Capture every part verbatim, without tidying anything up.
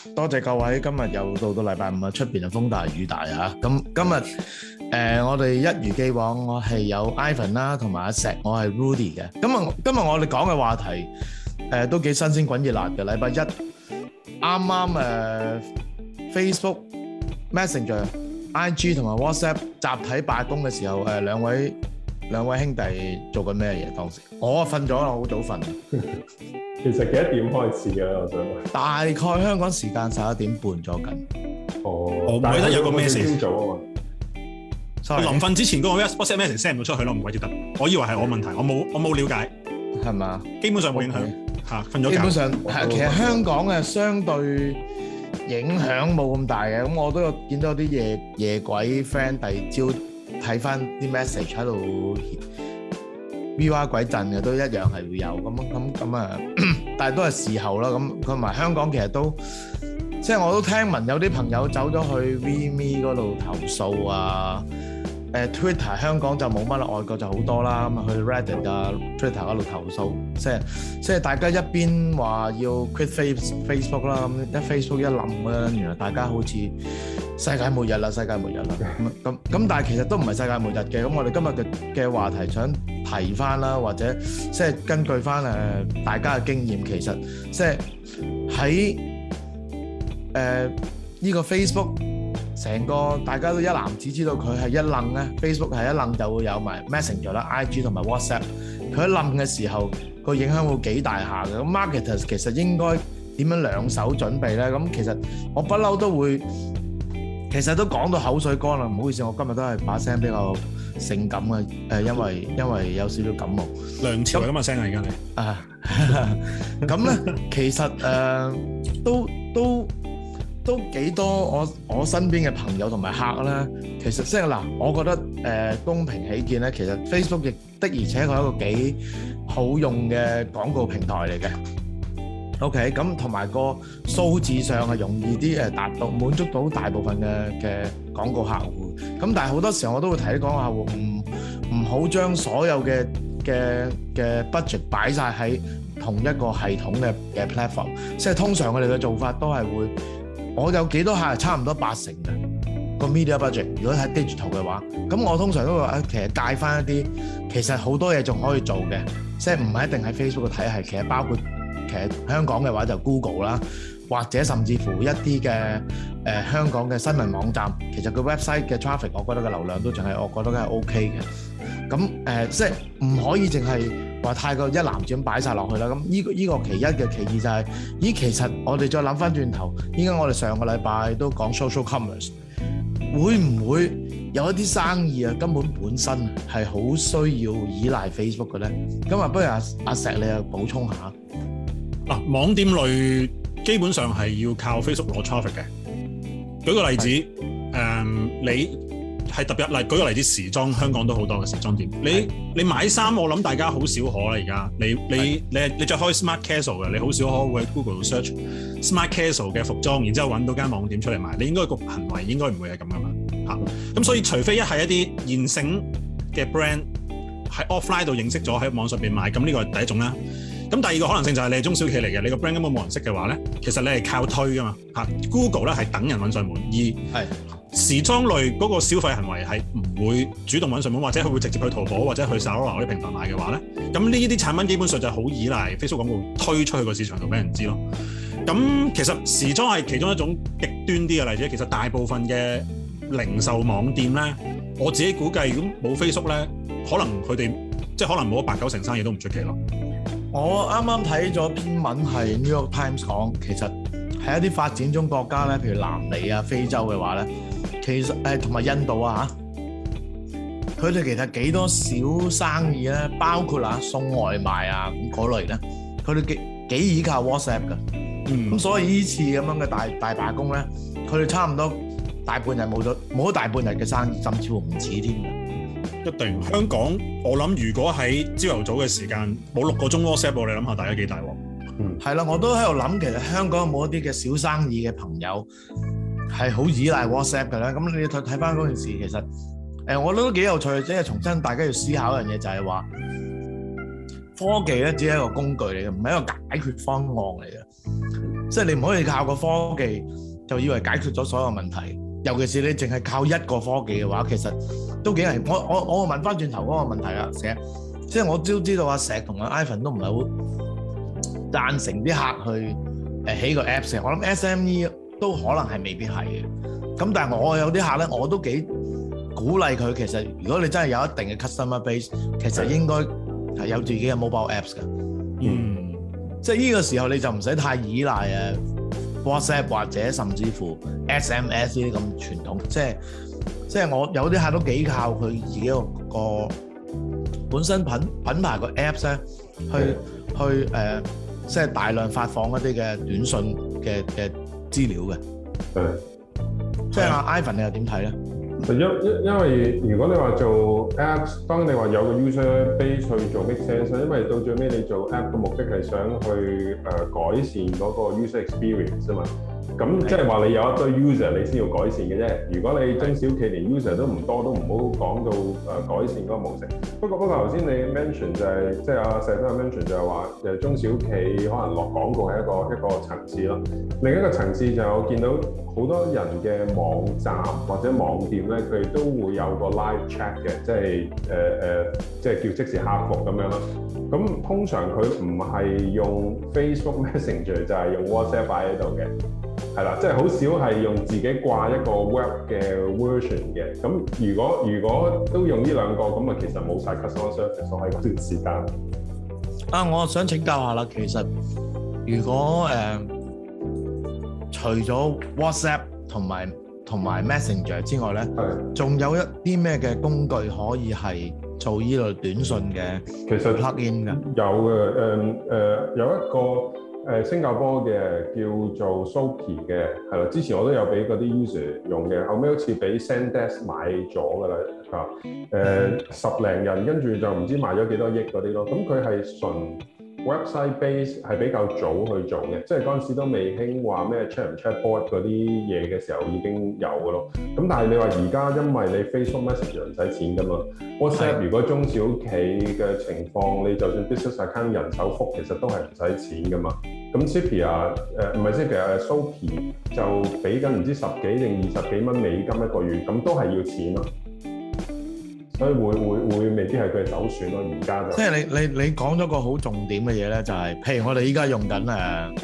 多謝各位，今日又到到禮拜五啊，出邊就風大雨大啊！咁今日誒，我哋一如既往，我係有 Ivan 啦，同埋阿石，我係 Rudy 嘅。今日今日我哋講嘅話題誒都幾新鮮滾熱辣嘅。禮拜一啱啱誒 Facebook、Messenger、I G 同埋 WhatsApp 集體罷工嘅時候，誒兩位兩位兄弟做緊咩嘢？當時我瞓咗啦，好早瞓。 其實幾多點開始嘅？我想問。 大概香港時間十一點半咗緊。 哦， 我唔記得有個 message。 朝早啊嘛。 我臨瞓之前嗰個 WhatsApp message send 唔到出去咯，唔鬼記得。我以為係我問題，我冇我冇了解。 係嘛？ 基本上冇影響嚇，瞓咗覺。 基本上係其實香港嘅相對影響冇咁大嘅，咁我都有見到啲夜夜鬼 friend 第二朝睇翻啲 message 喺度。V 哇鬼震嘅都一樣係會有咁咁咁啊，但係都係時候啦。咁同埋香港其實都即係我都聽聞有啲朋友走咗去 VMe 嗰度投訴啊。誒 Twitter 香港就冇乜啦，外國就好多啦。咁啊去 Reddit 啊 Twitter 嗰度投訴，即係即係大家一邊話要 quit Face Facebook 啦，咁一 Facebook 一冧咧，原來大家好似世界末日啦，世界末日啦。咁咁咁，但係其實都唔係世界末日嘅。咁我哋今日嘅嘅話題想提翻啦，或者即係根據翻誒大家嘅經驗，其實即係喺誒呢個 Facebook。成個大家都一籃子知道佢係一冧咧 ，Facebook 係一冧就會有埋 Messenger 啦、I G 同埋 WhatsApp。佢一冧嘅時候，個影響會幾大下嘅。咁 marketers 其實應該點樣兩手準備咧？咁其實我不嬲都會，其實都講到口水乾啦。唔好意思，我今日都係把聲比較性感嘅，誒，因為因為有少少感冒。 梁朝偉咁嘅聲啊，而家你啊，咁咧其實誒都都。都幾多我我身邊嘅朋友同埋客啦，其實即係嗱，我覺得誒、呃、公平起見咧，其實 Facebook 亦的而且確係一個幾好用嘅廣告平台嚟嘅。OK，咁同埋個數字上係容易啲誒達到滿足到大部分嘅嘅廣告客戶。咁但係好多時候我都會提啲廣告客戶唔唔好將所有嘅嘅嘅 budget 擺晒喺同一個系統嘅嘅 platform， 即係通常我哋嘅做法都係會。我有幾多客係差唔多八成嘅個 media budget， 如果喺 digital 嘅話，咁我通常都會話其實介翻一啲，其實好多嘢仲可以做嘅，即係唔係一定係 Facebook 嘅體系，其實包括其實香港嘅話就 Google 啦，或者甚至乎一啲嘅誒香港嘅新聞網站，其實個 website 嘅 traffic， 我覺得個流量都仲係，我覺得係 OK 嘅。咁誒、呃，即係唔可以淨係話太過一籃子咁擺晒落去啦。咁呢、這個依、這個其一嘅，其二就係、是，咦，其實我哋再諗翻轉頭，依家我哋上個禮拜都講 social commerce， 會唔會有一啲生意啊根本本身係好需要依賴 Facebook 嘅咧？咁啊，不如阿阿石你又補充下。 嗱、啊，網店類基本上係要靠 Facebook 攞 traffic 嘅。舉個例子，誒、嗯，你。係特別例，舉個例子，時裝香港都好多嘅時裝店。你你買衫，我諗大家好少可啦。而家你你你你著開 smart casual 嘅，你好少可會喺 Google 度 search smart casual 嘅服裝，然之後揾到間網店出嚟賣。你應該個行為應該唔會係咁噶嘛嚇。咁所以除非一係一啲現成嘅 brand 喺 offline 度認識咗喺網上邊賣，咁呢個係第一種啦。咁第二個可能性就係你係中小企嚟嘅，你個 brand 根本冇人識嘅話咧，其實你係靠推噶嘛嚇。Google 咧係等人揾上門，而係。時裝類嗰個消費行為係唔會主動揾上門，或者佢會直接去淘寶或者去 Zalora 嗰啲平台買嘅話咧，咁呢啲產品基本上就係好依賴 Facebook 廣告推出去個市場度俾人知咯。咁其實時裝係其中一種極端啲嘅例子，其實大部分嘅零售網店咧，我自己估計如果冇 Facebook 咧，可能佢哋即係可能冇咗八九成生意都唔出奇咯。 我啱啱睇咗篇文係 New York Times 講，其實喺一啲發展中國家咧，譬如南美啊、非洲嘅話咧。其實誒同埋印度啊嚇，佢哋其實幾多小生意咧，包括啊送外賣啊咁嗰類咧，佢哋幾幾依靠 WhatsApp 㗎。嗯，咁所以呢次咁樣嘅大大罷工咧，佢哋差唔多大半日冇咗冇咗大半日嘅生意，甚至乎唔止添嘅。 一定香港，我諗如果喺朝頭早嘅時間冇六個鐘 WhatsApp， 你諗下大家幾大鑊？ 嗯，係啦，我都喺度諗，其實香港有冇一啲嘅小生意嘅朋友係好依賴 WhatsApp 嘅咧？咁你睇睇翻嗰件事，其實誒、呃，我覺得都幾有趣，即係重新大家要思考一樣嘢，就係話科技咧只係一個工具嚟嘅，唔係一個解決方案嚟嘅。 即係你唔可以靠個科技就以為解決咗所有問題，尤其是你淨係靠一個科技嘅話，其實都幾危。我我我問翻轉頭嗰個問題啦，成日即係我都知道阿石同阿 Ivan 都唔係好贊成啲客去誒起個 Apps 嘅，我諗 S M E 都可能係未必係嘅。咁但係我有啲客咧，我都幾鼓勵佢。其實如果你真係有一定嘅 customer base，其實應該係有自己嘅 mobile apps 嘅。嗯，即係呢個時候你就唔使太依賴誒 WhatsApp 或者甚至乎 S M S 呢啲咁傳統。即係即係我有啲客都幾靠佢自己個個本身品品牌個 apps 咧，去去誒、呃，即係大量發放一啲嘅短信嘅嘅資料嘅。 係。 即係阿 Ivan 你又點睇咧？ 因因因為如果你話做 Apps， 當你話有個 user base 去做 make sense， 因為到最尾你做 App 嘅目的係想去誒、呃、改善嗰個 user experience 啊嘛。咁即係話你有一堆 user 你先要改善嘅啫。如果你中小企連 user 都唔多，都唔好講到誒、呃、改善嗰個模式。不過不過頭先你 mention 就係、是、即係阿石都有 mention 就係話誒中小企可能落廣告係一個一個層次咯。另一個層次就係我見到好多人嘅網站或者網店咧，佢哋都會有個 live chat 嘅，即係誒誒，即係叫即時客服咁樣咯。咁通常佢唔係用 Facebook Messenger 就係用 WhatsApp 擺喺度嘅。係啦，即係好少係用自己掛一個 web 嘅 version 嘅。咁如果如果都用呢兩個，咁啊其實冇晒 customer service 喺嗰段時間。 啊，我想請教下啦，其實如果誒、呃、除咗 WhatsApp 同埋同埋 Messenger 之外咧，仲有一啲咩嘅工具可以係做呢類短信嘅？其實 plugin 嘅有嘅，誒誒有一個。誒、呃、新加坡嘅叫做 Soapy 嘅，係啦，之前我都有俾嗰啲 user 用嘅，後尾好似俾 Sendesk 買咗㗎啦，嚇、呃，誒十零人跟住就唔知賣咗幾多億嗰啲咯，咁佢係純 website base 係比較早去做嘅，即係嗰陣時都未興話咩 chat 唔 chatbot 嗰啲嘢嘅時候已經有㗎咯，咁但係你話而家因為你 Facebook Messenger 唔使錢㗎嘛 ，WhatsApp 如果中小企嘅情況，你就算 business account 人手覆，其實都係唔使錢㗎嘛。咁 Zapier 誒唔係 Zapier 誒 Soapy 就俾緊唔知十幾定二十幾蚊美金一個月，咁都係要錢咯。所以會會會未必係佢嘅首選咯。而家就即係你你你講咗個好重點嘅嘢咧，就係、是、譬如我哋依家用緊誒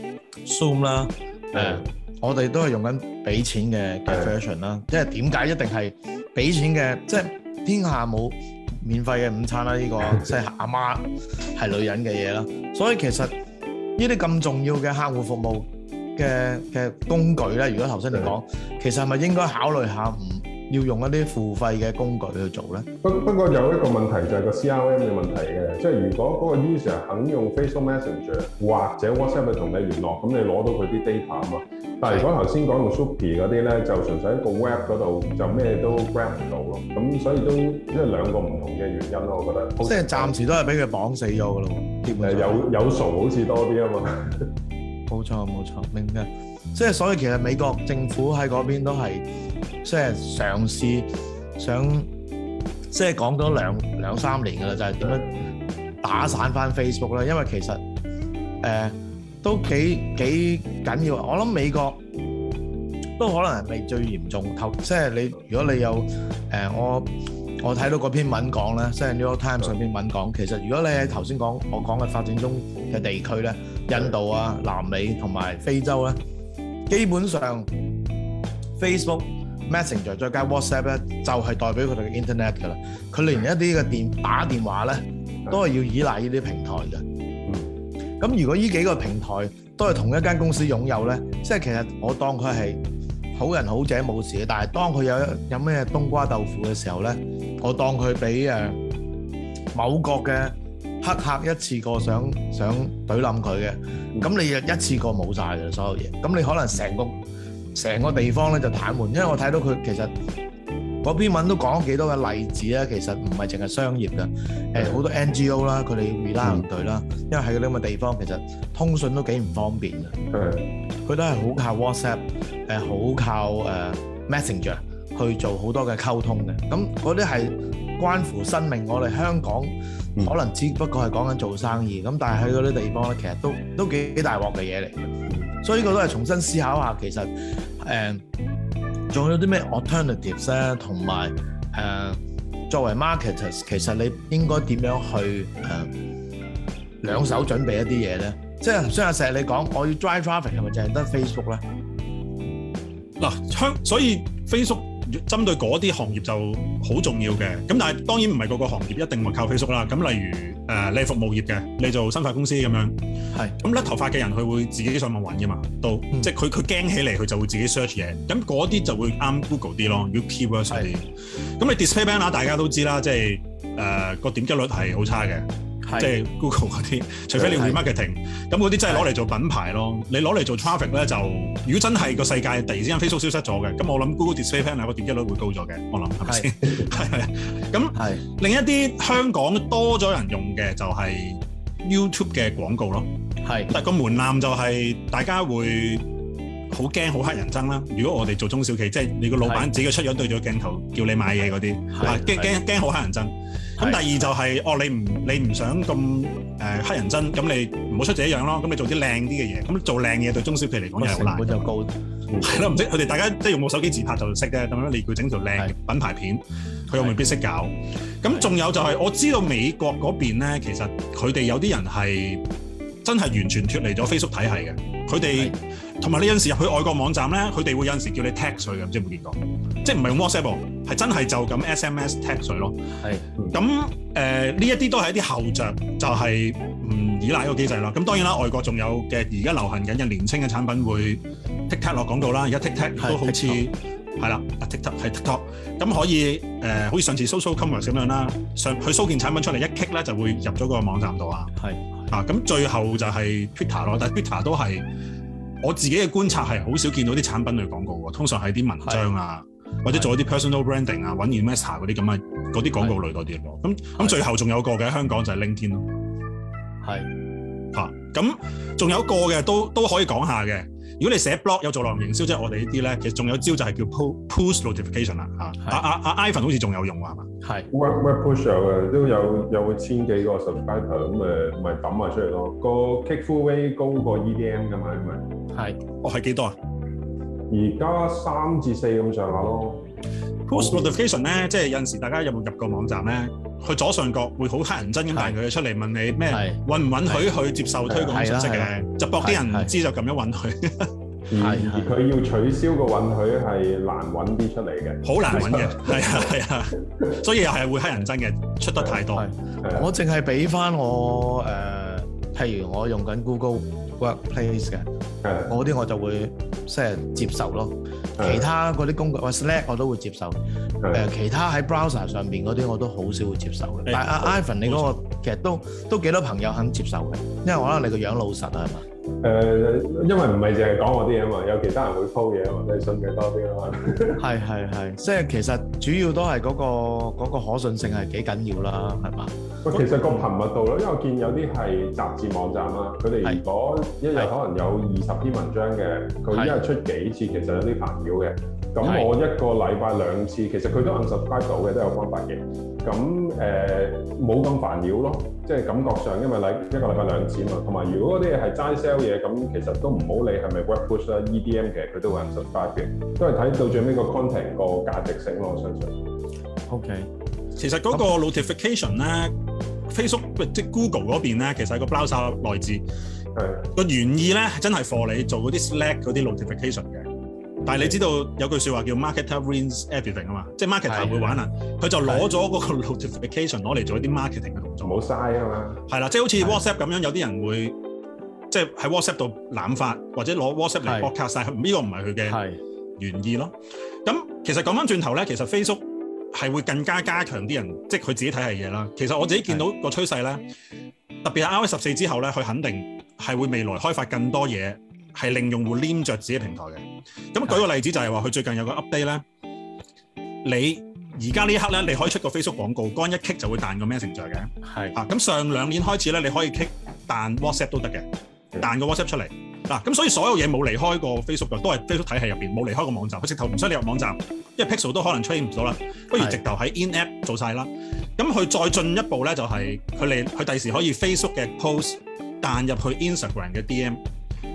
Zoom 啦，誒、呃、我哋都係用緊俾錢嘅嘅 version 啦。即係點解一定係俾錢嘅？即係天下冇免費嘅午餐啦！呢、這個即係阿媽係女人嘅嘢啦。所以其實呢啲咁重要嘅客戶服務嘅嘅工具咧，如果頭先你講，其實係咪應該考慮下唔要用一啲付費嘅工具去做咧？不不過有一個問題就係個 C R M 嘅問題嘅，即係如果嗰個 user 肯用 Facebook Messenger 或者 WhatsApp 去同你聯絡，咁你攞到佢啲 data 啊嘛。但係如果頭先講用 Soapy 嗰啲咧，就純粹喺個 web 嗰度就咩都 grab 唔到咯。咁所以都即係兩個唔同嘅原因咯，我覺得。 即係暫時都係俾佢綁死咗㗎咯。 誒有有數好似多啲啊嘛。 冇錯冇錯，明嘅。即係所以其實美國政府喺嗰邊都係即係嘗試想即係講咗兩兩三年㗎啦，就係點樣打散翻 Facebook 啦。因為其實誒、呃、都幾幾緊要。我諗美國都可能係未最嚴重。即係你如果你有誒、呃、我。我睇到嗰篇文講咧，即係 New York Times 上篇文講，其實如果你喺頭先講我講嘅發展中嘅地區咧，印度啊、南美同埋非洲咧，基本上 Facebook Messenger 再加 WhatsApp 咧，就係代表佢哋嘅 Internet 㗎啦。佢連一啲嘅電打電話咧，都係要依賴呢啲平台嘅。咁如果呢幾個平台都係同一間公司擁有咧，即係其實我當佢係好人好者冇事嘅，但係當佢有有咩冬瓜豆腐嘅時候咧，我當佢俾誒某國嘅黑客一次過想想懟冧佢嘅，咁你就一次過冇晒嘅所有嘢，咁你可能成個成個地方咧就癱瘓，因為我睇到佢其實嗰篇文都講咗幾多嘅例子咧，其實唔係淨係商業嘅，誒好多 N G O 啦，佢哋 rely on 佢啦，因為喺嗰啲咁嘅地方其實通訊都幾唔方便嘅，佢都係好靠 WhatsApp，誒好靠誒 Messenger。去做好多嘅溝通嘅，咁嗰啲係關乎生命。我哋香港可能只不過係講緊做生意，咁但係喺嗰啲地方咧，其實都都幾幾大鑊嘅嘢嚟嘅。 所以呢個都係重新思考下，其實誒仲、呃、有啲咩 alternatives 咧，同埋誒作為 marketers，其實你應該點樣去誒、呃、兩手準備一啲嘢咧？即係雖然成日你講我要 drive traffic 係咪淨係得 Facebook 咧？ 嗱，香所以 Facebook 針對嗰啲行業就好重要嘅。咁但係當然唔係個個行業一定會靠 Facebook 啦。咁例如誒、呃、你係服務業嘅，你做生髮公司咁樣，係咁甩頭髮嘅人佢會自己上網揾噶嘛，都、嗯、即係佢佢驚起嚟佢就會自己 search 嘢。咁嗰啲就會啱 Google 啲咯，要 keywords 嗰啲。咁你 display banner 大家都知啦，即係誒個點擊率係好差嘅。即係 Google 嗰啲，除非你 remarketing，咁嗰啲真係攞嚟做品牌咯。你攞嚟做 traffic 咧，就如果真係個世界突然之間 Facebook 消失咗嘅，咁我諗 Google Display Panel 個點擊率會高咗嘅。我諗係咪先？係係。咁另一啲香港多咗人用嘅就係 YouTube 嘅廣告咯。係，但係個門檻就係大家會好驚好乞人憎啦。如果我哋做中小企，即係你個老闆自己出樣對咗鏡頭叫你買嘢嗰啲，驚驚驚好乞人憎。咁第二就係、是、哦，你唔你唔想咁誒乞人憎，咁你唔好出這樣咯。咁你做啲靚啲嘅嘢，咁做靚嘢對中小企嚟講又係好難。成本就高，係咯，唔識佢哋大家即係用部手機自拍就識嘅，咁樣你叫整條靚品牌片，佢又未必識搞。咁仲有就係、是、我知道美國嗰邊咧，其實佢哋有啲人係真係完全脫離咗 Facebook 體系嘅，佢哋。同埋你有陣時入去外國網站咧，佢哋會有陣時叫你 tag 佢嘅，唔知有冇見過？即係唔係用 WhatsApp，係真係就咁 S M S tag 佢咯。係。咁誒呢一啲都係一啲後着，就係、是、唔依賴呢個機制啦。咁當然啦，外國仲有嘅而家流行緊嘅年青嘅產品會 TikTok 落廣告啦。而家 TikTok 都好似係啦，TikTok 係 TikTok，咁可以誒、呃，好似上次 Social Commerce 咁樣啦，上去搜件產品出嚟一 click 咧就會入咗個網站度啊。係。啊，咁最後就係 Twitter 咯，但係 Twitter 都係。我自己嘅觀察係好少見到啲產品類廣告喎，通常係啲文章啊，或者做一啲 personal branding 啊，揾 investor 嗰啲咁嘅嗰啲廣告類多啲咯。咁咁最後仲有個嘅香港就係 LinkedIn 咯。係嚇，咁仲有一個嘅都都可以講下嘅。如果你寫 blog 有做內容營銷，即係我哋呢啲咧，其實仲有招就係叫 push notification 啦嚇。阿阿阿 Ivan 好似仲有用喎，係嘛？係 web web push 嘅都有有千幾個 subscriber 咁誒，咪抌埋出嚟咯。個 click through rate 高過 E D M 㗎嘛，因為係，哦係幾多啊？ 而家三至四咁上下咯。 Push notification 咧，即係有陣時大家有冇入過網站咧？佢左上角會好乞人憎咁彈佢出嚟問你咩允唔允許佢接受推廣信息嘅，就搏啲人唔知就咁樣允許。 而而佢要取消個允許係難揾啲出嚟嘅， 好難揾嘅，係啊係啊，所以又係會乞人憎嘅，出得太多。 我淨係俾翻我誒、呃，譬如我用緊 Google Workplace 嘅，我啲我就會即係接受咯。其他嗰啲工具，或 Slack 我都會接受。誒、呃，其他喺 browser 上邊嗰啲我都好少會接受嘅。但係阿 Ivan 你嗰、那個其實都都幾多朋友肯接受嘅，因為我覺得你個樣老實啊，係嘛？ 誒、呃，因為唔係淨係講我啲嘢嘛，有其他人會 po 嘢啊嘛，你信嘅多啲啊嘛。係係係，即係其實主要都係嗰、那個那個可信性係幾緊要啦，係嘛？ 喂，其實個頻密度咯，因為我見有啲係雜誌網站啦，佢哋如果一日可能有二十篇文章嘅，佢一日出幾次，其實有啲煩擾嘅。咁我一個禮拜兩次，其實佢都 unsubscribe 到嘅，都有方法嘅。咁誒冇咁煩擾咯，即係感覺上，因為禮一個禮拜兩次嘛。同埋如果嗰啲係齋 sell 嘢，咁其實都唔好理係咪 web push 啦 ，E D M 嘅佢都會 unsubscribe 嘅，都係睇到最尾個 content 個價值性咯，我相信。OK， 其實嗰個 notification 咧 ，Facebook 即係 Google 嗰邊咧，其實係個 browser 內置，係個原意咧係真係 for 你做嗰啲 Slack 嗰啲 notification 嘅。但係你知道有句説話叫 marketer wins everything 啊嘛，即係 marketer 會玩啊，佢就攞咗嗰個 notification 攞嚟做一啲 marketing 嘅動作， 冇嘥啊嘛。係啦， 即係好似 WhatsApp 咁樣，有啲人會即係喺 WhatsApp 度濫發或者攞 WhatsApp 嚟 broadcast 晒，呢個唔係佢嘅原意咯。咁其實講翻轉頭咧，其實 Facebook 係會更加加強啲人，即係佢自己睇係嘢啦。其實我自己見到個趨勢咧，特別係 iOS 十四之後咧，佢肯定係會未來開發更多嘢。係令用戶黏着自己平台嘅。咁舉個例子就係話，佢最近有個 update 咧，你而家呢一刻咧，你可以出個 Facebook 廣告，幹一 click 就會彈個 Messenger 嘅。係啊，咁上兩年開始咧，你可以 click 彈 WhatsApp 都得嘅，彈個 WhatsApp 出嚟。嗱，咁所以所有嘢冇離開過 Facebook 嘅，都係 Facebook 體系入邊冇離開個網站。佢直頭唔使你入網站，因為 Pixel 都可能 train 唔到啦。不如直頭喺 in app 做晒啦。咁佢再進一步咧，就係佢嚟佢第時可以 Facebook 嘅 post 彈入去 Instagram 嘅 D M。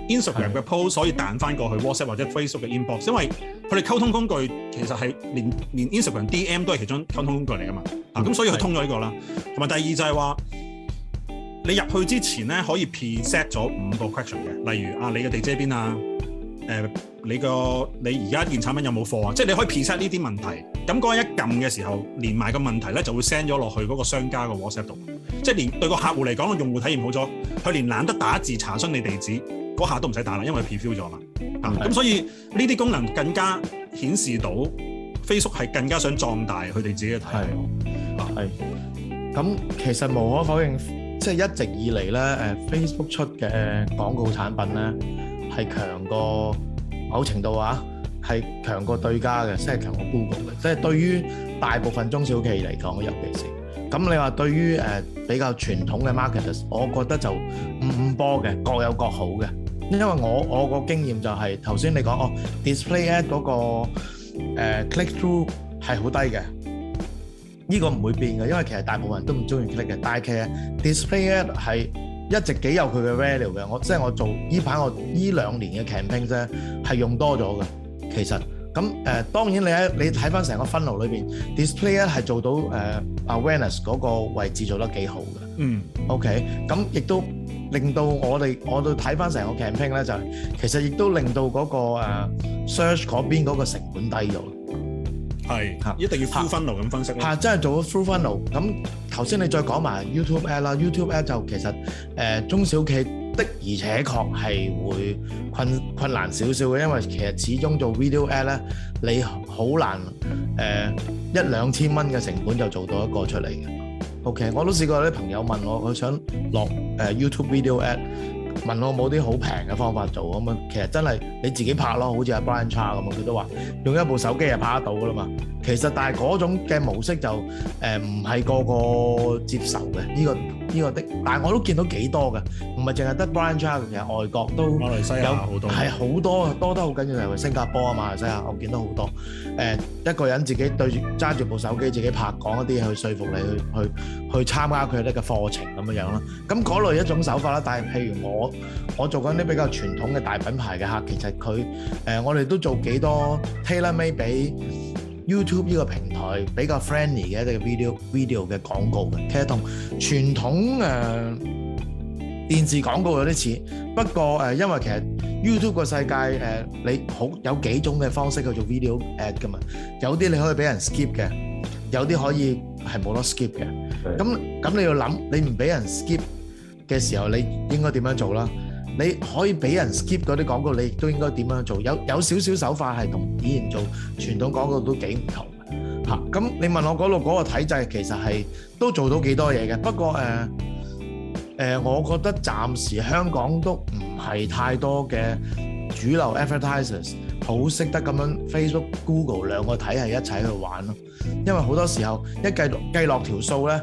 Instagram 嘅 post 可以彈翻過去 WhatsApp 或者 Facebook 嘅 inbox， 因為佢哋溝通工具其實係連連 Instagram D M 都係其中溝通工具嚟噶嘛。啊，咁所以佢通咗呢個啦。同埋第二就係話，你入去之前咧可以 preset 咗五個 question 嘅，例如啊，你嘅地址喺邊啊？誒、呃，你個你而家件產品有冇貨啊？即係你可以 preset 呢啲問題。咁嗰一撳嘅時候，連埋個問題咧就會 send 咗落去嗰個商家個 WhatsApp 度。即係連對個客戶嚟講，個用戶體驗好咗，佢連懶得打字查詢你地址嗰下都唔使打啦，因為 preview 咗嘛。啊，咁所以呢啲功能更加顯示到 Facebook 係更加想壯大佢哋自己嘅體驗。 係。咁其實無可否認，即係一直以嚟咧，誒 Facebook 出嘅廣告產品咧。係強過某程度啊，係強過對家嘅，即係強過 Google 嘅，即係對於大部分中小企嚟講，尤其是咁你話對於誒、呃、比較傳統嘅 marketers， 我覺得就五五波嘅，各有各好嘅。因為我我個經驗就係頭先你講哦 display ad 嗰、那個、呃、click through 係好低嘅，呢、這個唔會變嘅，因為其實大部分人都唔中意 click 嘅，但係其實 display ad 係一直幾有佢嘅 value 嘅，我即係我做呢排我呢兩年嘅 campaign 啫，係用多咗嘅。其實咁誒、呃，當然你喺你睇翻成個 funnel 裏邊 ，display 咧係做到誒、呃、awareness 嗰個位置做得幾好嘅。嗯。OK，咁亦都令到我哋我哋睇翻成個 campaign 咧，就係其實亦都令到嗰、那個、呃、search 嗰邊嗰個成本低咗。係嚇，一定要 full funnel 咁分析咯。係，真係做咗 full funnel。咁頭先你再講埋 YouTube ad 啦 ，YouTube ad 就其實誒、呃、中小企的而且確係會困困難少少嘅，因為其實始終做 video ad 咧，你好難誒、呃、一兩千蚊嘅成本就做到一個出嚟嘅。OK， 我都試過有啲朋友問我，佢想落誒、呃、YouTube video ad。問我冇啲好平嘅方法做咁啊，其實真係你自己拍咯，好似阿 Brian Cha 咁啊，佢都話用一部手機就拍得到噶啦嘛。其實但係嗰種嘅模式就誒唔係個個接受嘅呢、呢個呢、呢個的，但係我都見到幾多嘅，唔係淨係得 Brian Cha， 其實外國都馬來西亞好多，係好多多得好緊要，例如新加坡啊、馬來西亞，我見到好多誒、呃、一個人自己對住揸住部手機自己拍，講一啲去說服你去去去參加佢哋嘅課程咁樣樣咯。咁嗰類一種手法啦，但係譬如我我做緊啲比較傳統嘅大品牌嘅客，其實佢誒、呃、我哋都做幾多 tailor-made 俾 YouTube 呢個平台比較 friendly 嘅一啲 video video 嘅廣告嘅，其實同傳統誒、呃、電視廣告有啲似，不過誒、呃、因為其實 YouTube 個世界誒、呃、你好有幾種嘅方式去做 video ad 㗎嘛，有啲你可以俾人 skip 嘅，有啲可以係冇得 skip 嘅，咁咁你要諗你唔俾人 skip嘅時候，你應該點樣做啦？你可以俾人 skip 嗰啲廣告，你亦都應該點樣做？有有少少手法係同以前做傳統廣告都幾唔同嘅嚇。咁、啊、你問我嗰度嗰個體制其實係都做到幾多嘢嘅。不過誒誒、呃呃，我覺得暫時香港都唔係太多嘅主流 advertisers 好識得咁樣 Facebook、Google 兩個體系一齊去玩咯。因為好多時候一計計落條數咧，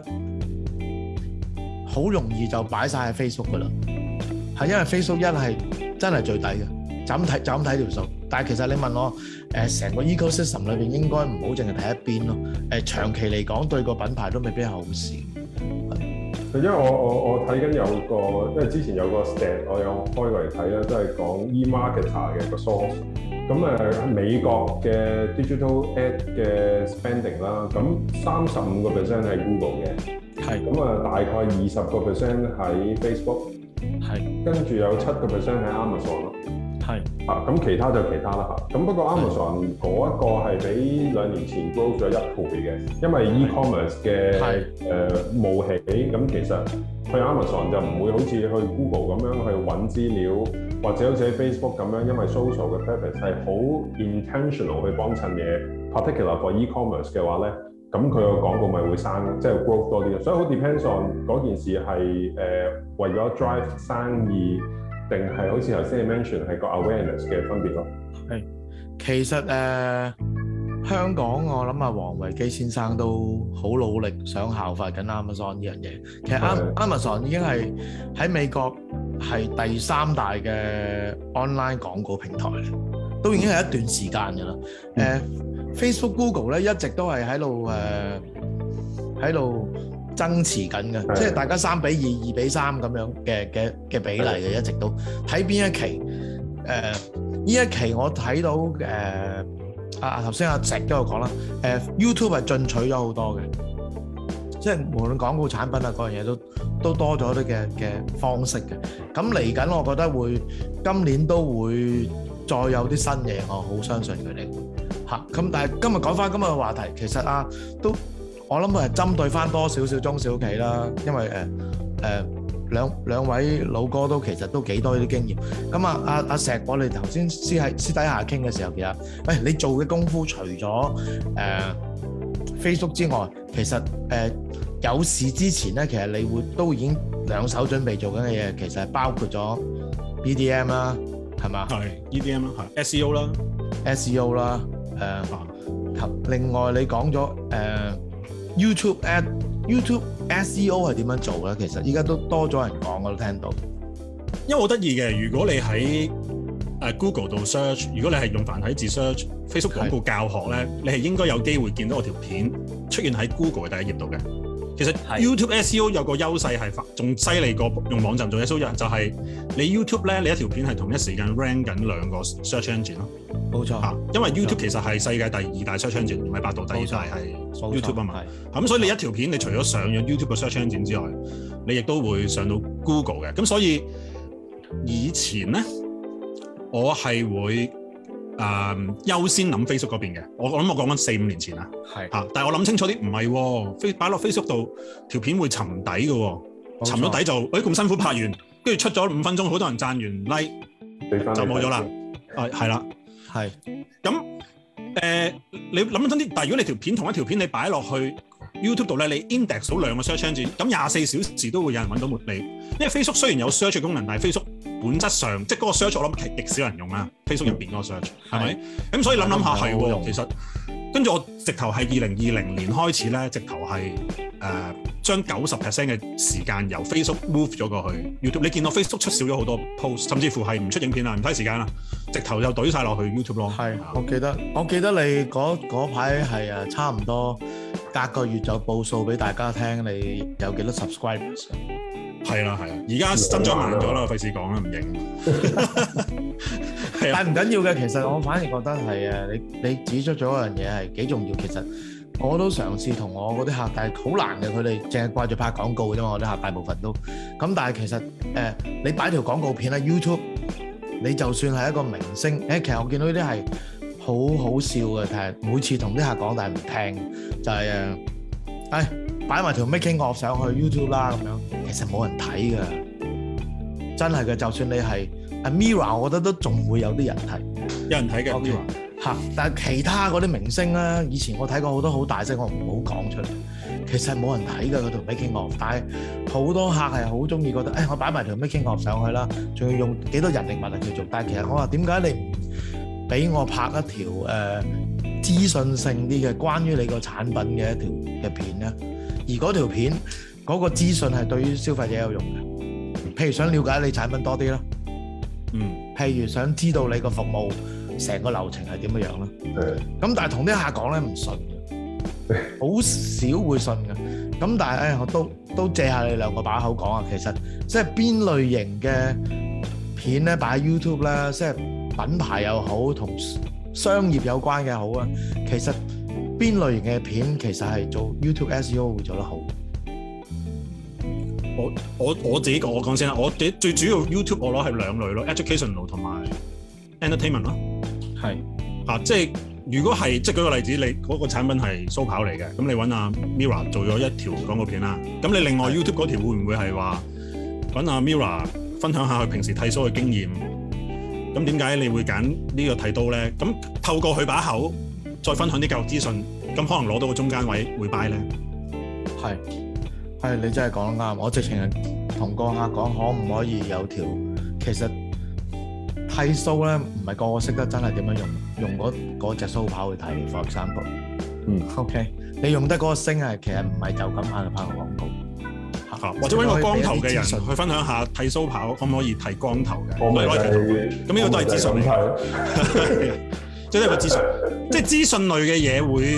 好容易就擺晒喺 Facebook 噶啦。係因為 Facebook 一係真係最抵嘅，就咁睇就咁睇條數。但係其實你問我誒成個 ecosystem 裏邊應該唔好淨係睇一邊咯。誒長期嚟講對個品牌都未必係好事。 因為我我我睇緊有個，因為之前有個 stat 我有開過嚟睇啦，都係講 eMarketer 嘅個 source。咁誒美國嘅 digital ad 嘅 spending 啦，咁三十五個 percent 係 Google 嘅，係咁啊大概二十個 percent 喺 Facebook。係，跟住有七個 percent 喺 Amazon 咯，係啊，咁其他就其他啦嚇。咁不過 Amazon 嗰一個係比兩年前 grow 咗一倍嘅，因為 e-commerce 嘅誒冒起，咁其實去 Amazon 就唔會好似去 Google 咁樣去揾資料，或者好似喺 Facebook 咁樣，因為 social 嘅 purpose 係好 intentional 去幫襯嘢 ，particular for e-commerce 嘅話咧。咁佢個廣告咪會生，即係 growth 多啲咯。所以好 depends on 嗰件事係誒、呃、為咗 drive 生意，定係好似頭先你 mention 係個 awareness 嘅分別咯。係，其實誒、呃、香港我諗阿黃維基先生都好努力想效法緊 Amazon 呢樣嘢。其實 Amazon 已經係喺美國係第三大嘅 online 廣告平台，都已經係一段時間㗎啦。誒、嗯。呃Facebook、Google 咧一直都係喺度誒喺度爭持緊嘅，即係大家三比二、二比三咁樣嘅嘅嘅比例嘅，一直都睇邊一期。誒、呃，呢一期我睇到誒，啊頭先阿石都有講啦，誒、呃、YouTube 係進取咗好多嘅，即係無論廣告產品啊嗰樣嘢都都多咗啲嘅嘅方式嘅。咁嚟緊，我覺得會今年都會再有啲新嘢，我好相信佢哋嚇。咁但係今日講翻今日嘅話題，其實啊都。我諗佢係針對翻多少少中小企啦，因為誒誒兩兩位老哥都其實都幾多呢啲經驗。咁啊阿阿石，我哋頭先私喺私底下傾嘅時候，其實喂你做嘅功夫除咗誒、呃、Facebook 之外，其實誒、呃、有事之前咧，其實你會都已經兩手準備做緊嘅嘢，其實係包括咗 B D M 啦，係嘛？係 E D M 啦，係 S E O 啦 ，S E O 啦，誒、呃，另外你講咗誒。呃YouTube ad YouTube S E O 係點樣做咧？其實依家都多咗人講，我都聽到。 因為好得意嘅，如果你喺誒 Google 度 search， 如果你係用繁體字 search Facebook 廣告教學咧，你係應該有機會見到我條片出現喺 Google 嘅第一頁度嘅。其實 YouTube S E O 有個優勢係仲犀利過用網站做 S E O， 就係你 YouTube 咧，你一條片係同一時間 rank 緊兩個 search engine 咯。冇錯，啊，因為 YouTube 其實係世界第二大 search engine，唔係百度第二大係 YouTube 啊嘛。咁所以你一條片，你除咗上咗 YouTube 嘅 search engine 之外，你亦都會上到 Google 嘅。咁所以以前咧，我係會誒、呃、優先諗 Facebook 嗰邊嘅。我我諗我講緊四五年前啦，係嚇。但係我諗清楚啲，唔係喎，擺落 Facebook 度條片會沉底嘅喎，沉咗底就誒咁辛苦拍完，跟住出咗五分鐘，好多人讚完 like 就冇咗啦。啊，係啦。係，咁誒、呃，你諗真啲，但係如果你條片同一條片你擺落去 YouTube 度咧，你 index 到兩個 search engine，咁廿四小時都會有人揾到你。因為 Facebook 雖然有 search 功能，但係 Facebook 本質上即係嗰個 search 我諗係極少人用啊。Facebook 入邊嗰個 search 係咪？咁所以諗諗下係喎，其實跟住我直頭係二零二零年開始咧，直頭係誒將九十 percent 嘅時間由 Facebook move 咗過去 YouTube。你見到 Facebook 出少咗好多 post， 甚至乎係唔出影片啦，唔嘥時間啦，直頭就懟晒落去 YouTube 咯。係，我記得我記得你嗰排係誒差唔多隔個月就報數俾大家聽，你有幾多 subscribers？ 係啦係啦，而家增長慢咗啦，費事講啦，唔認。但係唔緊要嘅，其實我反而覺得係誒，你你指出咗一樣嘢係幾重要。其實我都嘗試同我嗰啲客，但係好難嘅，佢哋淨係掛住拍廣告嘅啫嘛。我啲客大部分都咁，但係其實誒、呃，你擺條廣告片喺 YouTube， 你就算係一個明星，誒，其實我見到呢啲係好好笑嘅，但係每次同啲客講，但係唔聽，就係、是、誒，誒擺埋條 making of 上去 YouTube 啦咁樣，其實冇人睇㗎，真係嘅。就算你係 Mirror， 我覺得都仲會有啲人睇，有人睇嘅 Mirror 嚇。但係其他嗰啲明星咧，以前我睇過好多好大聲，我唔好講出嚟。其實冇人睇㗎嗰條 making of， 但係好多客係好中意覺得，誒、哎、我擺埋條 making of 上去啦，仲要用幾多人力物力去做。但係其實我話點解你唔俾我拍一條誒、呃、資訊性啲嘅關於你個產品嘅一條嘅片咧？而嗰條片嗰、嗰個資訊係對於消費者有用嘅，譬如想了解你產品多啲啦。嗯，譬如想知道你個服務成個流程係點樣樣啦，咁但係同啲客講咧唔信嘅，好少會信嘅。咁但係誒、哎，我都都借下你兩個把口講啊。其實即係邊類型嘅片咧擺喺 YouTube 咧，即係品牌又好，同商業有關嘅好啊。其實邊類型嘅片其實係做 YouTube S E O 會做得好。我我我自己講，我講先啦。我最最主要 YouTube 我攞係兩類咯 ，educational 同埋 entertainment 咯。係啊，即係如果係即係舉個例子，你嗰個產品係蘇跑嚟嘅，咁你揾阿 Mirror 做咗一條廣告片啦。咁你另外 YouTube 嗰條會唔會係話揾阿 Mirror 分享下佢平時剃鬚嘅經驗？咁點解你會揀呢個剃刀咧？咁透過佢把口再分享啲教育資訊，咁可能攞到個中間位會 buy 咧。係。係，你真係講得啱，我直情係同個客講，可唔可以有條其實剃鬚咧，唔係個個識得真係點樣用，用嗰嗰隻鬚刨去剃 for example。嗯 ，OK，你用得嗰個聲係其實唔係就咁嗌佢拍個廣告，啊、或者揾個光頭嘅人去分享下剃鬚刨可唔可以剃光頭嘅，唔係攞嚟剃頭。咁呢個都係資訊嚟，即係一個資訊，即係資訊類嘅嘢會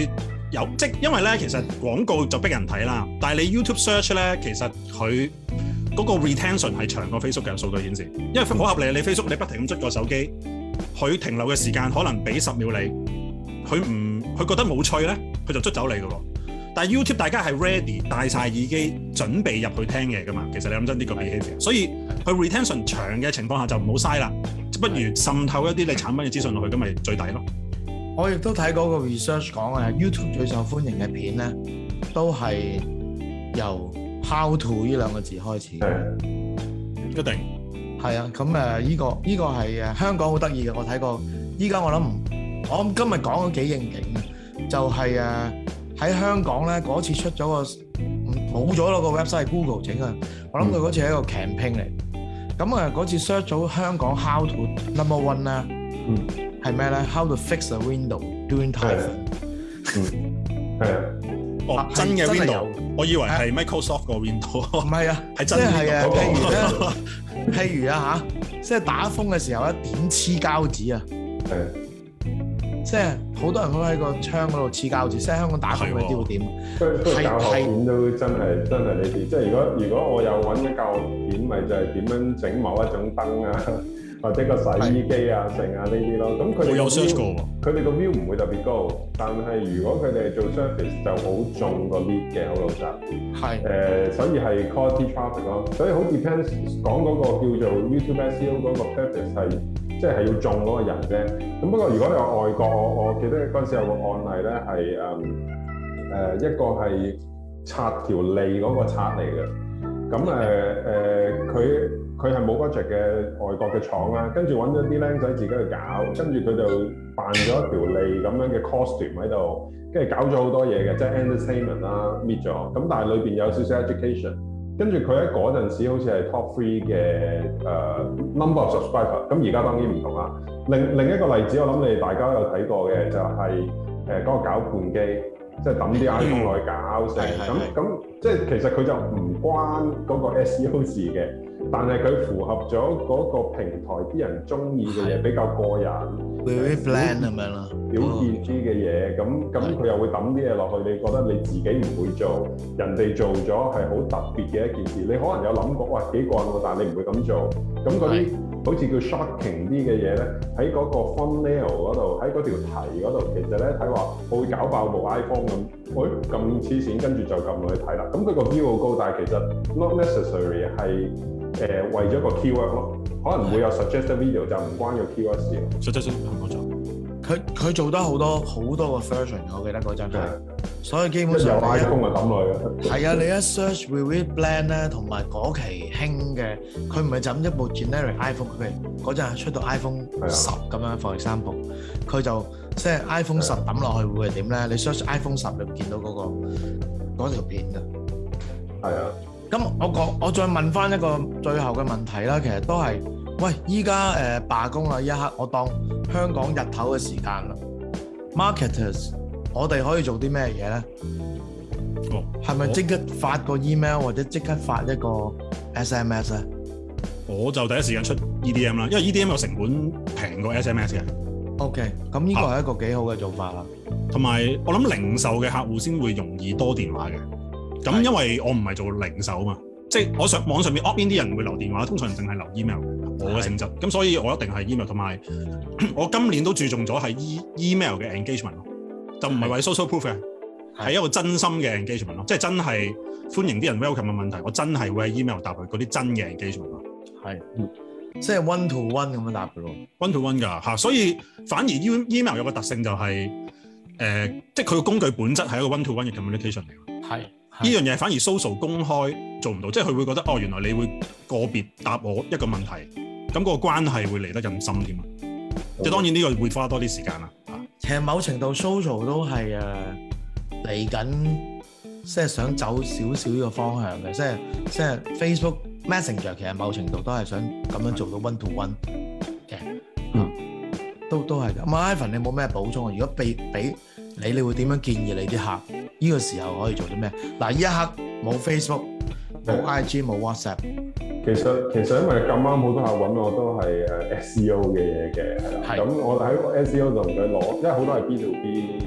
有即因為咧，其實廣告就逼人睇啦。但係你 YouTube search 咧，其實佢嗰個 retention 係長過 Facebook 嘅數據顯示。因為好合理，你 Facebook 你不停咁捽個手機，佢停留嘅時間可能俾十秒你，佢唔佢覺得冇趣咧，佢就捽走你㗎喎。但係 YouTube 大家係 ready 戴晒耳機準備入去聽嘢㗎嘛。其實你諗真啲個 behavior，所以佢 retention 長嘅情況下就唔好嘥啦，不如滲透一啲你產品嘅資訊落去，咁咪最抵咯。 我亦都睇嗰個 research 講啊 ，YouTube 最受歡迎嘅片咧，都係由 how to 呢兩個字開始。 一定係啊，咁誒依個依、這個係誒香港好得意嘅，我睇過。依家我諗唔，我諗今日講都幾應景嘅，就係誒喺香港咧嗰次出咗個冇咗咯個 website 係 Google 整啊，我諗佢嗰次係一個 campaign 嚟。咁啊嗰次 search 咗香港 how to number one 啦。嗯。係咩咧 ？How to fix a window during typhoon？ 嗯，係啊。 哦，真嘅 window， 我以為係 Microsoft 個 window。唔係啊， 係真係啊。譬如咧， 譬如啊嚇，即係打風嘅時候咧，點黐膠紙啊？係。即係好多人都喺個窗嗰度黐膠紙，即係香港打風嗰啲會點？ 係教學片都真係真係呢啲，即係如果如果我有揾啲教學片，咪就係點樣整某一種燈啊？或者個洗衣機啊、剩啊呢啲咯，咁佢哋有 search 過喎。佢哋個 view 唔會特別高，但係如果佢哋係做 service 就好重個 lead 嘅，好老實。係。誒、呃，所以係 quality traffic 咯，所以好 depends 講嗰個叫做 YouTube S E O 嗰個 purpose 係，即係係要中嗰個人啫。咁不過如果你話外國，我我記得嗰陣時有個案例咧係誒誒一個係刷條脷嗰個刷嚟嘅，咁誒誒佢。佢係冇 budget 嘅外國嘅廠啦，跟住揾咗啲僆仔自己去搞，跟住佢就扮咗一條脷咁樣嘅 costume 喺度，跟住搞咗好多嘢嘅，即係 entertainment 啦，搣咗，咁但係裏邊有少少 education，跟住佢喺嗰陣時好似係 top three 嘅誒、uh, number of subscriber，咁而家當然唔同啦。另另一個例子，我諗你哋大家有睇過嘅就係誒嗰個攪拌機，即係抌啲 iPhone 落去搞成，咁咁即係其實佢就唔關嗰個 S E O 事嘅。但係佢符合咗嗰個平台啲人中意嘅嘢，比較過癮 very bland 咁樣啦， 表現啲嘅嘢，咁咁佢又會抌啲嘢落去，你覺得你自己唔會做，人哋做咗係好特別嘅一件事，你可能有諗過，哇幾過癮喎，但係你唔會咁做，咁嗰啲好似叫 shocking 啲嘅嘢咧，喺嗰個 thumbnail 嗰度，喺嗰條題嗰度，其實咧睇話我會搞爆部 iPhone 咁，喂咁黐線，跟住就撳落去睇啦，咁佢個 view 好高，但係其實 not necessary 係。誒、呃、為咗個 keyword 咯，可能會有 suggested video 就唔關個 keyword 事。suggested 冇錯，佢佢做得好多好多個 version， 我記得嗰陣係，所以基本上有 iPhone 就抌落去。 係啊，你一 search Vivid Blend 咧，同埋嗰期興嘅，佢唔係就咁一部 generic iPhone，佢嗰陣出到 iPhone 十咁樣 for example，佢就即係 iPhone 十抌落去會係點咧？你 search iPhone 十你會見到嗰、嗰個嗰條片㗎。係啊。咁我講，我再問翻一個最後嘅問題啦，其實都係，喂，依家誒罷工啦，一刻我當香港日頭嘅時間啦 ，marketers，我哋可以做啲咩嘢咧？哦，係咪即刻發個 email 或者即刻發一個 S M S 咧？ 我就第一時間出 E D M 啦，因為 E D M 有成本平過 S M S 嘅。 OK，咁呢個係一個幾好嘅做法啦。 同埋我諗零售嘅客戶先會容易多電話嘅。咁因為我唔係做零售啊嘛，即係我上網上面 opt in 啲人會留電話，通常淨係留 email 我嘅性質，咁所以我一定係 email， 同埋我今年都注重咗係 email 嘅 engagement 咯，就唔係為 social proof 嘅，係一個真心嘅 engagement 咯，即係真係歡迎啲人 welcome 嘅問題，我真係會喺 email 答佢嗰啲真嘅 engagement 咯，係， 即係 one to one 咁樣答嘅咯 ，one to one 㗎嚇，所以反而 email 有個特性就係、是、誒、呃，即係佢個工具本質係一個 one to one 嘅 communication 嚟嘅，係。呢樣嘢反而 social 公開做唔到，即係佢會覺得哦，原來你會個別答我一個問題，咁、那個關係會嚟得更深添啊！即係當然呢個會花多啲時間啦。 其實某程度 social 都係誒嚟緊，即係想走少少呢個方向嘅，即係即係 Facebook Messenger 其實某程度都係想咁樣做到 one to one 嘅，嗯，都都係嘅。咁 Ivan 你冇咩補充啊？如果俾俾你，你會點樣建議你啲客？呢個時候可以做啲咩？嗱，呢一刻冇 Facebook、冇 I G、冇 WhatsApp。 其實其實因為咁啱好多客揾我都係誒 S E O 嘅嘢嘅，係啦。咁我喺 S E O 就同佢攞，因為好多係 B to B 嘅。咁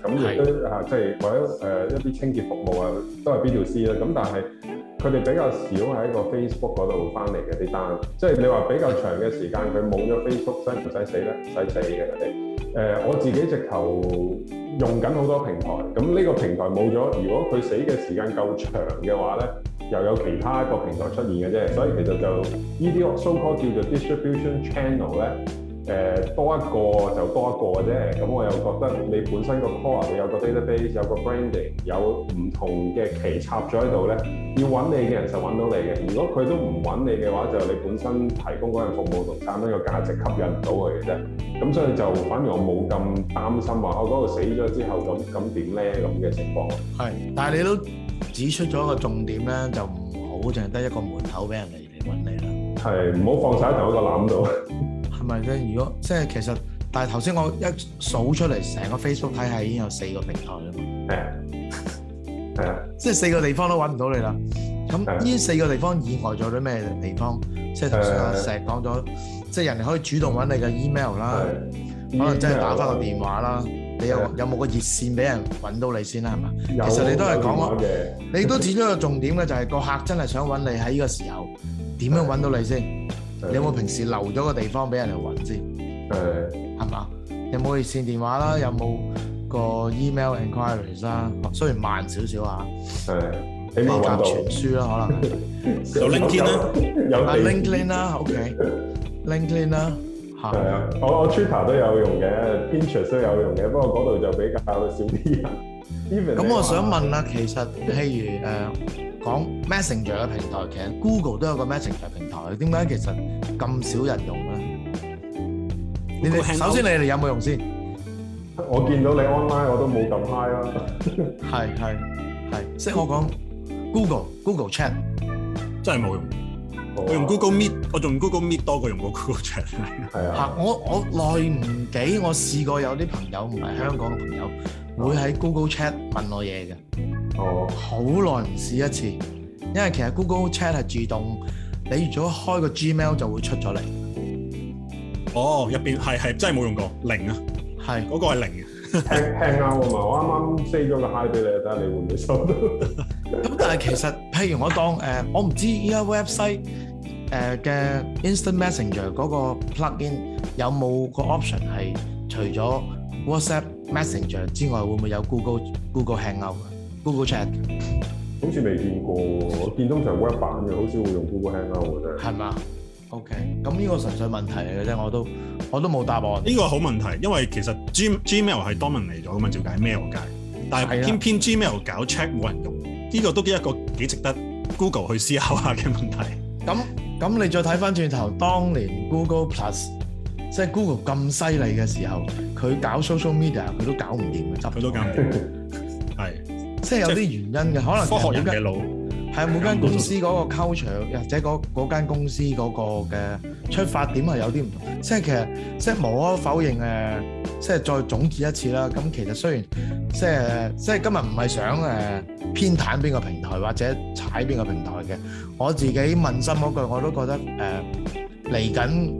咁亦都啊，即係或者誒一啲清潔服務啊，都係 B to C 啦。咁但係佢哋比較少喺個 Facebook 嗰度翻嚟嘅啲單，即係你話比較長嘅時間佢冇咗 Facebook，使唔使死咧？唔使死嘅佢哋。誒、呃、我自己直頭用緊好多平台，咁呢個平台冇咗，如果佢死嘅時間夠長嘅話咧，又有其他一個平台出現嘅啫。所以其實就呢啲 so called 叫做 distribution channel 咧。誒、呃、多一個就多一個嘅啫，咁我又覺得你本身個 core 你有個 database 有個 branding 有唔同嘅旗插咗喺度咧，要揾你嘅人就揾到你嘅。如果佢都唔揾你嘅話，就你本身提供嗰樣服務同產品嘅價值吸引唔到佢嘅啫。咁所以就反而我冇咁擔心話我嗰度死咗之後咁咁點咧咁嘅情況。係， 但係你都指出咗一個重點咧，就唔好淨係得一個門口俾人嚟嚟揾你啦。 係，唔好放晒喺同一個籃度。 係咪咧？如果即係其實，但係頭先我一數出嚟，成個 Facebook 體系已經有四個平台啦嘛。 係啊，係啊， 即係四個地方都揾唔到你啦。咁呢四個地方以外仲有啲咩地方？即係頭先阿石講咗，即係人哋可以主動揾你嘅 email 啦，可能真係打翻個電話啦。你有有冇個熱線俾人揾到你先啦？係嘛？其實你都係講咯，你都指咗個重點嘅，就係個客真係想揾你喺呢個時候，點樣揾到你先？你有冇平時留咗個地方俾人嚟揾先？係係嘛？有冇熱線電話啦？有冇個 email enquiries 啦？雖然慢少少啊， 係飛鴿傳書啦，可能有 LinkedIn 啦， 有啊 LinkedIn 啦 ，OK，LinkedIn 啦，嚇。係啊，我我 Twitter 都有用嘅 ，Pinterest 都有用嘅，不過嗰度就比較少啲人。 咁我想問啦，其實譬如誒。講 Messenger 嘅平台，其實 Google 都有個 Messenger 平台，點解其實咁少人用咧？你哋首先你哋有冇用先？ 我見到你 online 我都冇咁 high 啦。 係係係，即係我講 Google Google Chat 真係冇用。我用 Google Meet，我用 Google Meet 多過用過 Google Chat。 係啊。 嚇！我我耐唔幾，我試過有啲朋友唔係香港嘅朋友，會喺 Google Chat 問我嘢嘅。哦，好耐唔試一次，因為其實 Google Chat 係自動，你如果開個 Gmail 就會出咗嚟。 哦，入邊係係真係冇用過，零啊，係嗰個係零嘅。 輕輕啱啊嘛，我啱啱 say 咗個 hi 俾你，睇下你會唔會收到。 咁但係其實，譬如我當誒、呃，我唔知依家 website 誒嘅 Instant Messenger 嗰個 plugin 有冇個 option 係除咗 WhatsApp Messenger 之外，會唔會有 Google Google Hangout、Google Chat？ 好似未見過，我見通常 web 版嘅，好少會用 Google Hangout 嘅真係。係嘛 ？OK，咁呢個純粹問題嚟嘅啫，我都我都冇答案。 呢個好問題，因為其實 G Gmail 係 dominate 咗噶嘛，照解 mail 界，但係偏偏 Gmail 搞 check 冇人用，呢個都係一個幾值得 Google 去思考下嘅問題。 咁咁你再睇翻轉頭，當年 Google Plus 即係 Google 咁犀利嘅時候，佢搞 social media 佢都搞唔掂嘅，執佢都搞唔掂，係即係有啲原因嘅，可能科學人嘅腦。 係每間公司嗰個 culture，或者嗰嗰間公司嗰個嘅出發點係有啲唔同。即係其實即係無可否認誒，即係再總結一次啦。咁其實雖然即係即係今日唔係想誒偏袒邊個平台或者踩邊個平台嘅，我自己問心嗰句我都覺得誒嚟緊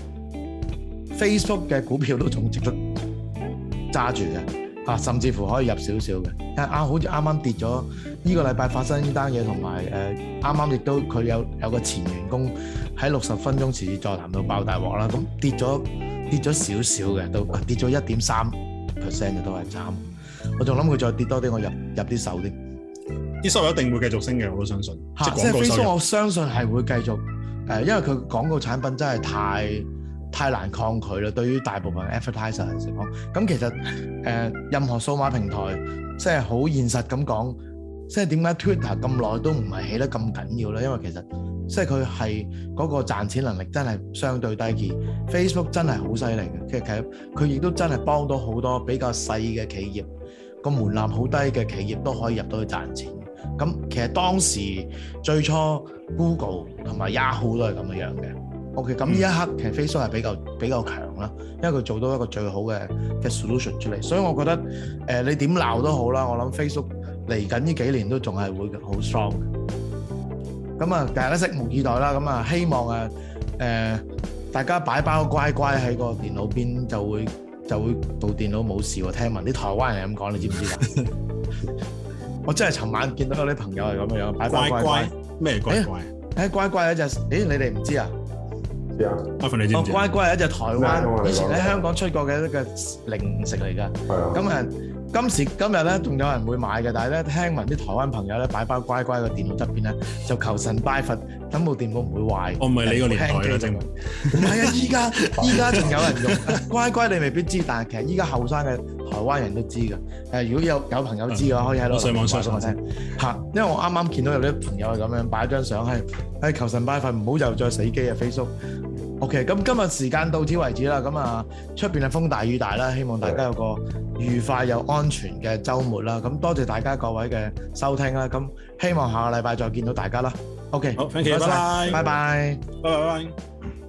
Facebook 嘅股票都仲值得揸住嘅，啊甚至乎可以入少少嘅。因為啱好似啱啱跌咗。呢個禮拜發生呢單嘢，同埋誒啱啱亦都佢有有個前員工喺六十分鐘時事座談到爆大鑊啦，咁跌咗跌咗少少嘅，都跌咗一點三 percent 嘅都係慘。我仲諗佢再跌多啲，我入入啲手啲。 啲收入一定會繼續升嘅，我都相信。 嚇，即係 Facebook，我相信係會繼續誒，因為佢廣告產品真係太太難抗拒啦。對於大部分 advertiser 嚟講，咁其實誒任何數碼平台即係好現實咁講。即係點解 Twitter 咁耐都唔係起得咁緊要咧？因為其實即係佢係嗰個賺錢能力真係相對低啲。Facebook 真係好犀利嘅，其實其實佢亦都真係幫到好多比較細嘅企業，個門檻好低嘅企業都可以入到去賺錢。咁其實當時最初 Google 同埋 Yahoo 都係咁樣樣嘅。OK， 咁呢一刻其實 Facebook 係比較比較強啦，因為佢做到一個最好嘅嘅 solution 出嚟。所以我覺得誒、呃、你點鬧都好啦，我諗 Facebook。嚟緊呢幾年都仲係會好 strong 嘅，咁啊大家拭目以待啦。咁啊希望啊誒、呃、大家擺包乖乖喺個電腦邊就會就會部電腦冇事喎。聽聞啲台灣人係咁講，你知唔知㗎？我真係尋晚見到有啲朋友係咁樣樣，擺翻乖乖咩乖乖？ 誒乖乖有一隻，誒你哋唔知啊？ 知啊， 哦乖乖係一隻台灣以前喺香港出過嘅一個零食嚟㗎。係啊。咁啊。今時今日咧，仲有人會買嘅，但係咧聽聞啲台灣朋友咧擺包乖乖個電腦側邊咧，就求神拜佛，等部電腦唔會壞。我唔係你個年代啦，正唔係啊！依家依家仲有人用乖乖，你未必知，但係其實依家後生嘅台灣人都知㗎。誒，如果有有朋友知嘅話，可以喺度上網上上我聽嚇。因為我啱啱見到有啲朋友係咁樣擺張相，係係求神拜佛，唔好又再死機啊 Facebook。OK，咁今日時間到此為止啦。咁啊，出邊係風大雨大啦，希望大家有個愉快又安全嘅週末啦。咁多謝大家各位嘅收聽啦。咁希望下個禮拜再見到大家啦。OK，好，thank you，拜拜，拜拜，拜拜。